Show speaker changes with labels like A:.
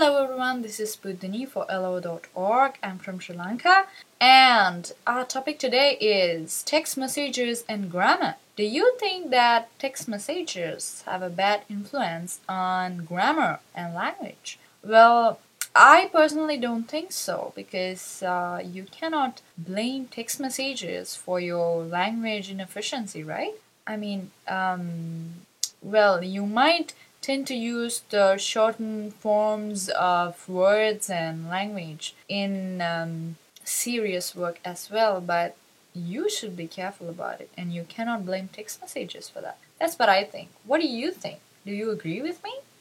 A: Hello everyone, this is Buddhini for LO.org. I'm from Sri Lanka, and our topic today is text messages and grammar. Do you think that text messages have a bad influence on grammar and language? Well, I personally don't think so because you cannot blame text messages for your language inefficiency, right? I mean, well, you might tend to use the shortened forms of words and language in serious work as well, but you should be careful about it and you cannot blame text messages for that. That's what I think. What do you think? Do you agree with me?